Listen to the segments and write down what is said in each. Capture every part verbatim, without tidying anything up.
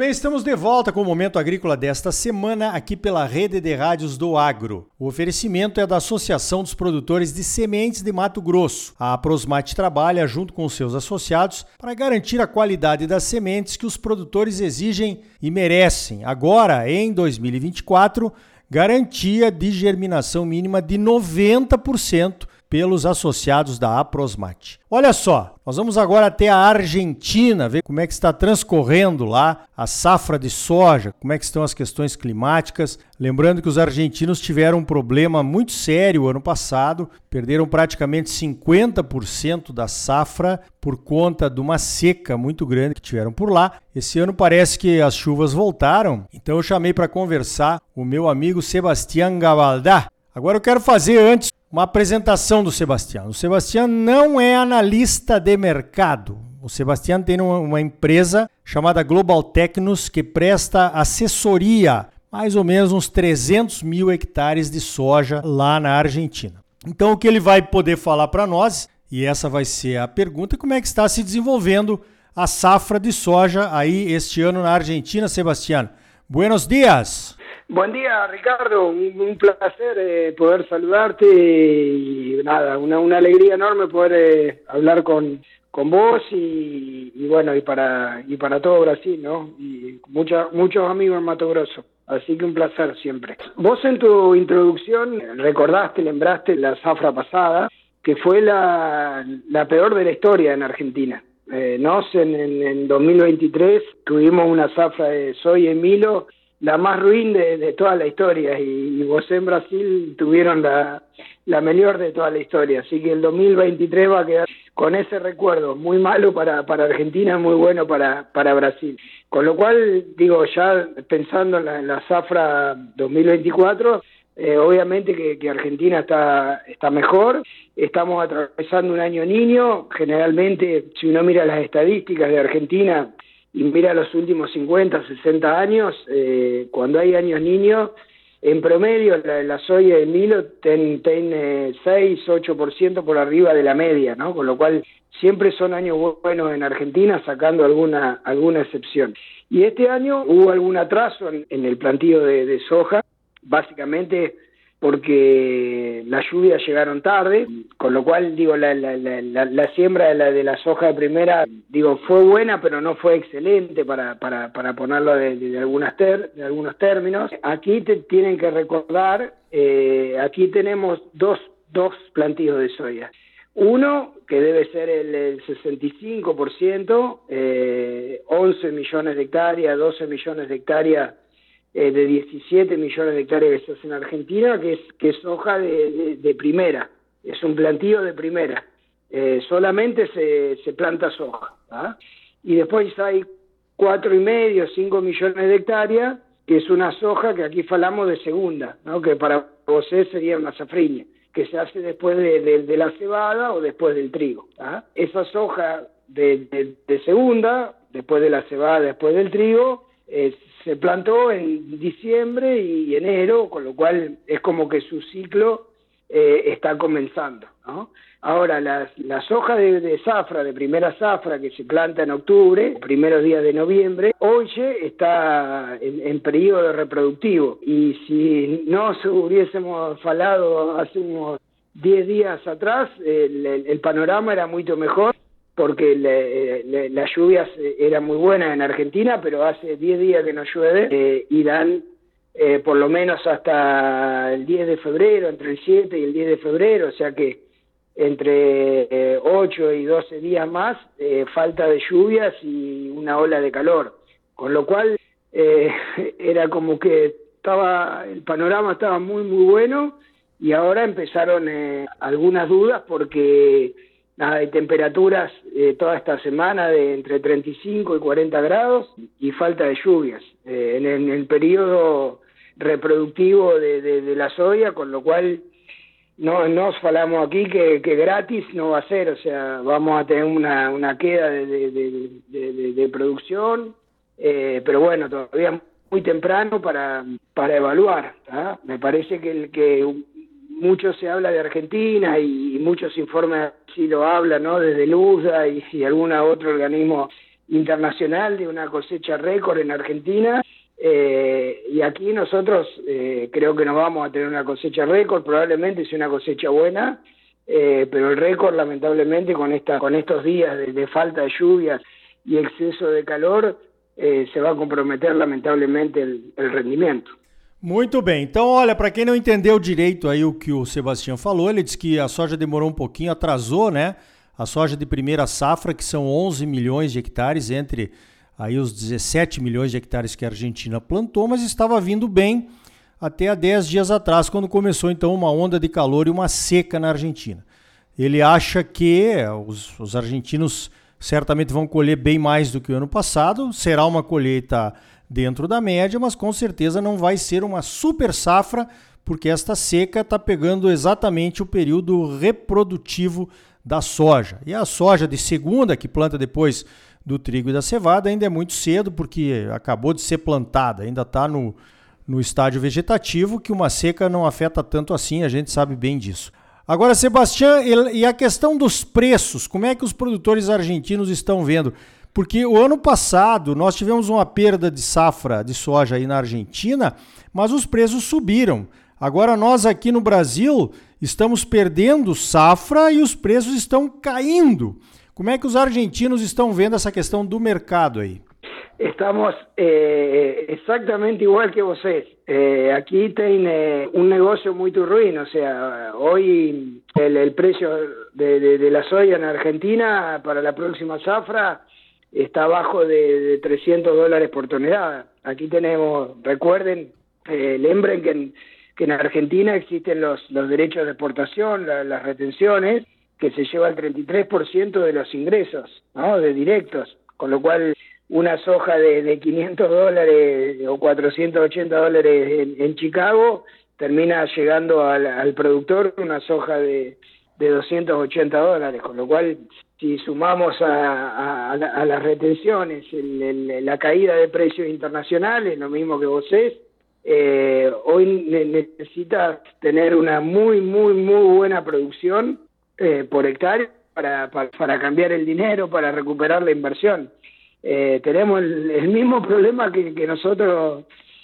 bem, estamos de volta com o Momento Agrícola desta semana aqui pela Rede de Rádios do Agro. O oferecimento é da Associação dos Produtores de Sementes de Mato Grosso. A Aprosmate trabalha junto com seus associados para garantir a qualidade das sementes que os produtores exigem e merecem. Agora, em dois mil e vinte e quatro, garantia de germinação mínima de noventa por cento pelos associados da Aprosmate. Olha só, nós vamos agora até a Argentina, ver como é que está transcorrendo lá a safra de soja, como é que estão as questões climáticas. Lembrando que os argentinos tiveram um problema muito sério ano passado, perderam praticamente cinquenta por cento da safra por conta de uma seca muito grande que tiveram por lá. Esse ano parece que as chuvas voltaram, então eu chamei para conversar o meu amigo Sebastián Gabaldá. Agora eu quero fazer antes uma apresentação do Sebastián. O Sebastián não é analista de mercado. O Sebastián tem uma, uma empresa chamada Global Tecnos que presta assessoria, mais ou menos uns trezentos mil hectares de soja lá na Argentina. Então o que ele vai poder falar para nós, e essa vai ser a pergunta, como é que está se desenvolvendo a safra de soja aí este ano na Argentina, Sebastián. Buenos días. Buen día, Ricardo. Un, un placer eh, poder saludarte y nada, una, una alegría enorme poder eh, hablar con, con vos y, y bueno, y para y para todo Brasil, ¿no? Y mucha, muchos amigos en Mato Grosso. Así que un placer siempre. Vos en tu introducción recordaste, lembraste la zafra pasada, que fue la, la peor de la historia en Argentina. Eh, nos en, en, en dos mil veintitrés tuvimos una zafra de soya y milo la más ruin de, de toda la historia y, y vos en Brasil tuvieron la, la mejor de toda la historia, así que el dos mil veintitrés va a quedar con ese recuerdo, muy malo para, para Argentina, muy bueno para, para Brasil. Con lo cual, digo, ya pensando en la, en la zafra dos mil veinticuatro, eh, obviamente que, que Argentina está, está mejor, estamos atravesando un año niño, generalmente si uno mira las estadísticas de Argentina, y mira los últimos cincuenta, sesenta años, eh, cuando hay años niños, en promedio la, la soya y el milo tienen ten, eh, seis, ocho por ciento por arriba de la media, ¿no? Con lo cual siempre son años buenos en Argentina, sacando alguna, alguna excepción. Y este año hubo algún atraso en, en el plantío de, de soja, básicamente porque las lluvias llegaron tarde, con lo cual, digo, la, la, la, la siembra de la, de la soja de primera, digo, fue buena, pero no fue excelente para, para, para ponerlo de, de, de, algunas ter, de algunos términos. Aquí te tienen que recordar, eh, aquí tenemos dos, dos plantíos de soya. Uno, que debe ser el, el sesenta y cinco por ciento, eh, once millones de hectáreas, doce millones de hectáreas, Eh, de diecisiete millones de hectáreas que se hace en Argentina, que es, que es soja de, de, de primera, es un plantío de primera, eh, solamente se, se planta soja, ¿ah? Y después hay cuatro y medio, cinco millones de hectáreas, que es una soja que aquí hablamos de segunda, ¿no? Que para vos sería una safriña, que se hace después de, de, de la cebada o después del trigo, ¿ah? Esa soja de, de, de segunda, después de la cebada, después del trigo, eh, se plantó en diciembre y enero, con lo cual es como que su ciclo eh, está comenzando, ¿no? Ahora, la, la soja de, de zafra, de primera zafra, que se planta en octubre, primeros días de noviembre, hoy está en, en periodo reproductivo. Y si no se hubiésemos falado hace unos diez días atrás, el, el, el panorama era mucho mejor, porque le, le, las lluvias eran muy buenas en Argentina, pero hace diez días que no llueve, eh, y dan eh, por lo menos hasta el diez de febrero, entre el siete y el diez de febrero, o sea que entre eh, ocho y doce días más, eh, falta de lluvias y una ola de calor, con lo cual eh, era como que estaba el panorama estaba muy muy bueno, y ahora empezaron eh, algunas dudas porque nada, hay temperaturas eh, toda esta semana de entre treinta y cinco y cuarenta grados y falta de lluvias eh, en, en el periodo reproductivo de, de, de la soya, con lo cual no nos falamos aquí que, que gratis no va a ser, o sea, vamos a tener una, una queda de, de, de, de, de, de producción, eh, pero bueno, todavía muy temprano para, para evaluar, ¿tá? Me parece que el que mucho se habla de Argentina y, y muchos informes sí lo hablan, ¿no? Desde el U S D A y, y algún otro organismo internacional de una cosecha récord en Argentina. Eh, y aquí nosotros eh, creo que nos vamos a tener una cosecha récord, probablemente sea una cosecha buena, eh, pero el récord lamentablemente con esta con estos días de, de falta de lluvias y exceso de calor eh, se va a comprometer lamentablemente el, el rendimento. Muito bem, então olha, para quem não entendeu direito aí o que o Sebastião falou, ele disse que a soja demorou um pouquinho, atrasou, né? A soja de primeira safra, que são onze milhões de hectares, entre aí os dezessete milhões de hectares que a Argentina plantou, mas estava vindo bem até há dez dias atrás, quando começou então uma onda de calor e uma seca na Argentina. Ele acha que os, os argentinos certamente vão colher bem mais do que o ano passado, será uma colheita dentro da média, mas com certeza não vai ser uma super safra, porque esta seca está pegando exatamente o período reprodutivo da soja. E a soja de segunda, que planta depois do trigo e da cevada, ainda é muito cedo, porque acabou de ser plantada, ainda está no, no estágio vegetativo, que uma seca não afeta tanto assim, a gente sabe bem disso. Agora, Sebastião, e a questão dos preços, como é que os produtores argentinos estão vendo? Porque o ano passado nós tivemos uma perda de safra de soja aí na Argentina, mas os preços subiram. Agora nós aqui no Brasil estamos perdendo safra e os preços estão caindo. Como é que os argentinos estão vendo essa questão do mercado aí? Estamos eh, exactamente igual que vocês. Eh, aquí tem eh, un negocio muy ruin, o sea, hoy el, el precio de, de, de la soya en Argentina para la próxima zafra está abajo de, de trescientos dólares por tonelada. Aquí tenemos, recuerden, eh, lembren que en, que en Argentina existen los, los derechos de exportación, la, las retenciones, que se lleva el treinta y tres por ciento de los ingresos, ¿no?, de directos, con lo cual una soja de, de quinientos dólares o cuatrocientos ochenta dólares en, en Chicago termina llegando al, al productor una soja de, de doscientos ochenta dólares, con lo cual si sumamos a, a, a las retenciones el, el, la caída de precios internacionales, lo mismo que vos es, eh, hoy necesitas tener una muy, muy, muy buena producción eh, por hectárea para, para, para cambiar el dinero, para recuperar la inversión. Eh, tenemos el, el mismo problema que, que nosotros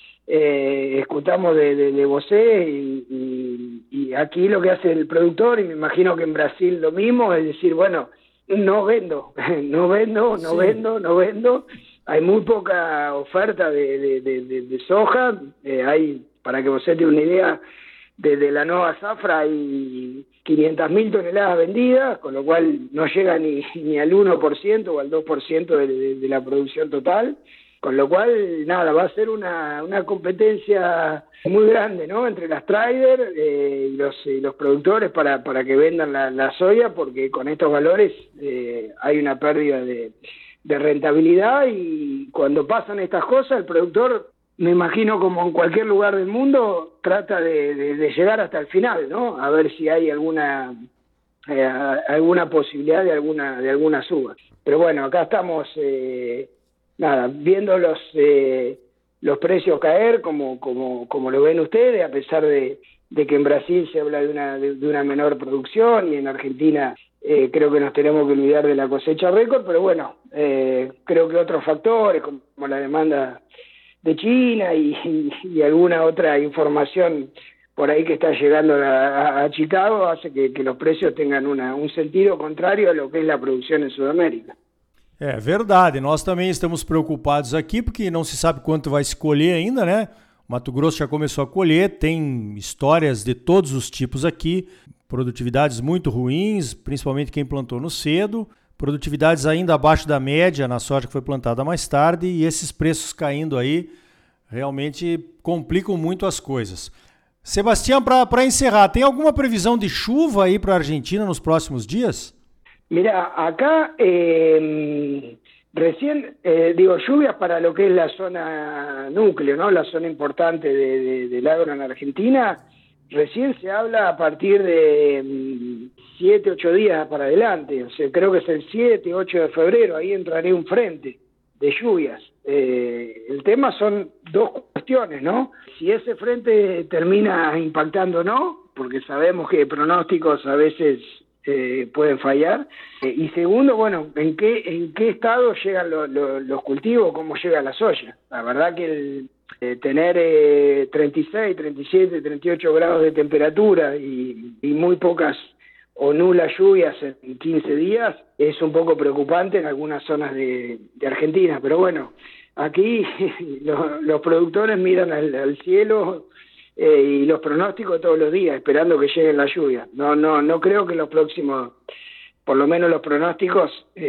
eh, escuchamos de, de, de Bosé y, y, y aquí lo que hace el productor, y me imagino que en Brasil lo mismo, es decir, bueno, no vendo, no vendo, no sí. vendo, no vendo. Hay muy poca oferta de, de, de, de, de soja. Eh, hay, para que Bosé tenga una idea, desde la nueva zafra hay quinientas mil toneladas vendidas, con lo cual no llega ni, ni al uno por ciento o al dos por ciento de, de, de la producción total, con lo cual, nada, va a ser una, una competencia muy grande, ¿no?, entre las traders eh, y, los, y los productores para, para que vendan la, la soya, porque con estos valores eh, hay una pérdida de, de rentabilidad, y cuando pasan estas cosas el productor, me imagino como en cualquier lugar del mundo, trata de, de, de llegar hasta el final, ¿no?, a ver si hay alguna eh, alguna posibilidad de alguna de alguna suba. Pero bueno, acá estamos eh, nada, viendo los eh, los precios caer como como como lo ven ustedes, a pesar de, de que en Brasil se habla de una de, de una menor producción, y en Argentina eh, creo que nos tenemos que olvidar de la cosecha récord, pero bueno, eh, creo que otros factores como, como la demanda de China y, y, y alguna otra información por ahí que está llegando a, a Chicago hace que, que los precios tengan una, un sentido contrario a lo que es la producción en Sudamérica. É verdade, nós também estamos preocupados aqui porque não se sabe quanto vai se colher ainda, né? Mato Grosso já começou a colher, tem histórias de todos os tipos aqui, produtividades muito ruins, principalmente quem plantou no cedo, produtividades ainda abaixo da média na soja que foi plantada mais tarde, e esses preços caindo aí realmente complicam muito as coisas. Sebastião, para encerrar, tem alguma previsão de chuva aí para a Argentina nos próximos dias? Mira, acá eh, recién, eh, digo, lluvias para lo que es la zona núcleo, ¿no?, la zona importante de, de, del agro en Argentina, recién se habla a partir de siete, ocho días para adelante, o sea, creo que es el siete, ocho de febrero, ahí entraré un frente de lluvias. Eh, el tema son dos cuestiones, ¿no? Si ese frente termina impactando o no, porque sabemos que pronósticos a veces eh, pueden fallar. Eh, y segundo, bueno, ¿en qué, en qué estado llegan lo, lo, los cultivos, cómo llega la soya? La verdad que el, eh, tener eh, treinta y seis, treinta y siete, treinta y ocho grados de temperatura y, y muy pocas o nulas lluvias en quince días es un poco preocupante en algunas zonas de, de Argentina, pero bueno, aquí los, los productores miran al, al cielo eh, y los pronósticos todos los días, esperando que lleguen las lluvias. No, no, no creo que los próximos, por lo menos los pronósticos,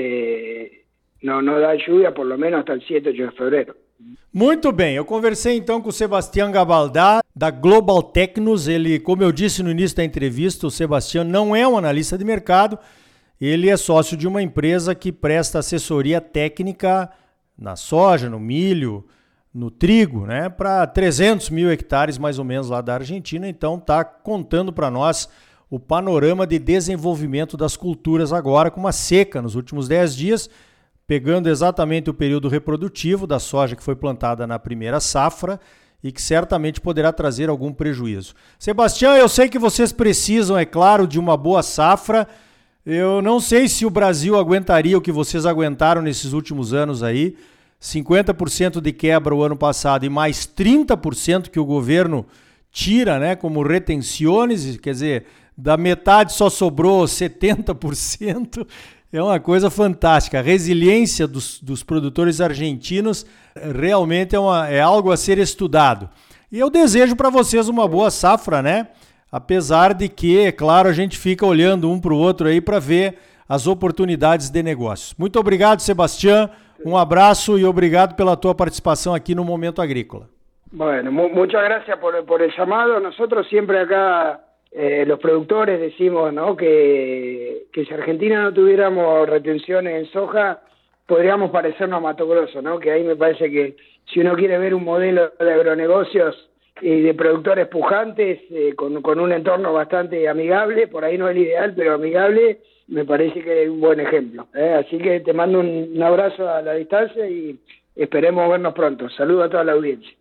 eh, no, no dan lluvia por lo menos hasta el siete, ocho de febrero. Muito bem, eu conversei então com o Sebastião Gabaldá, da Global Tecnos. Ele, como eu disse no início da entrevista, o Sebastião não é um analista de mercado, ele é sócio de uma empresa que presta assessoria técnica na soja, no milho, no trigo, né, para trezentos mil hectares mais ou menos lá da Argentina. Então está contando para nós o panorama de desenvolvimento das culturas agora, com uma seca nos últimos dez dias, pegando exatamente o período reprodutivo da soja que foi plantada na primeira safra e que certamente poderá trazer algum prejuízo. Sebastião, eu sei que vocês precisam, é claro, de uma boa safra. Eu não sei se o Brasil aguentaria o que vocês aguentaram nesses últimos anos aí, cinquenta por cento de quebra o ano passado e mais trinta por cento que o governo tira, né, como retenções, quer dizer, da metade só sobrou setenta por cento. É uma coisa fantástica. A resiliência dos, dos produtores argentinos realmente é, uma, é algo a ser estudado. E eu desejo para vocês uma boa safra, né? Apesar de que, é claro, a gente fica olhando um para o outro aí para ver as oportunidades de negócios. Muito obrigado, Sebastião. Um abraço e obrigado pela tua participação aqui no Momento Agrícola. Bueno, mu muchas gracias por, por el llamado. Nosotros siempre acá... Eh, los productores decimos, ¿no?, que, que si Argentina no tuviéramos retenciones en soja, podríamos parecernos a Mato Grosso, ¿no? Que ahí me parece que si uno quiere ver un modelo de agronegocios y de productores pujantes, eh, con, con un entorno bastante amigable, por ahí no es el ideal, pero amigable, me parece que es un buen ejemplo, ¿eh? Así que te mando un, un abrazo a la distancia y esperemos vernos pronto. Saludos a toda la audiencia.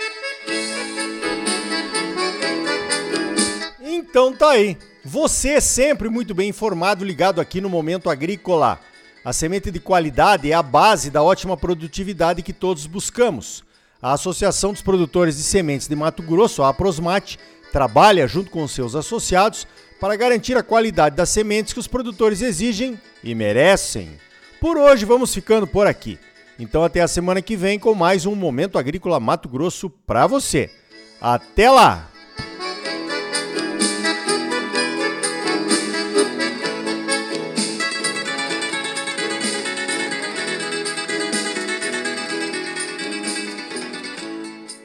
Então tá aí, você é sempre muito bem informado, ligado aqui no Momento Agrícola. A semente de qualidade é a base da ótima produtividade que todos buscamos. A Associação dos Produtores de Sementes de Mato Grosso, a Aprosmate, trabalha junto com seus associados para garantir a qualidade das sementes que os produtores exigem e merecem. Por hoje vamos ficando por aqui. Então até a semana que vem com mais um Momento Agrícola Mato Grosso para você. Até lá!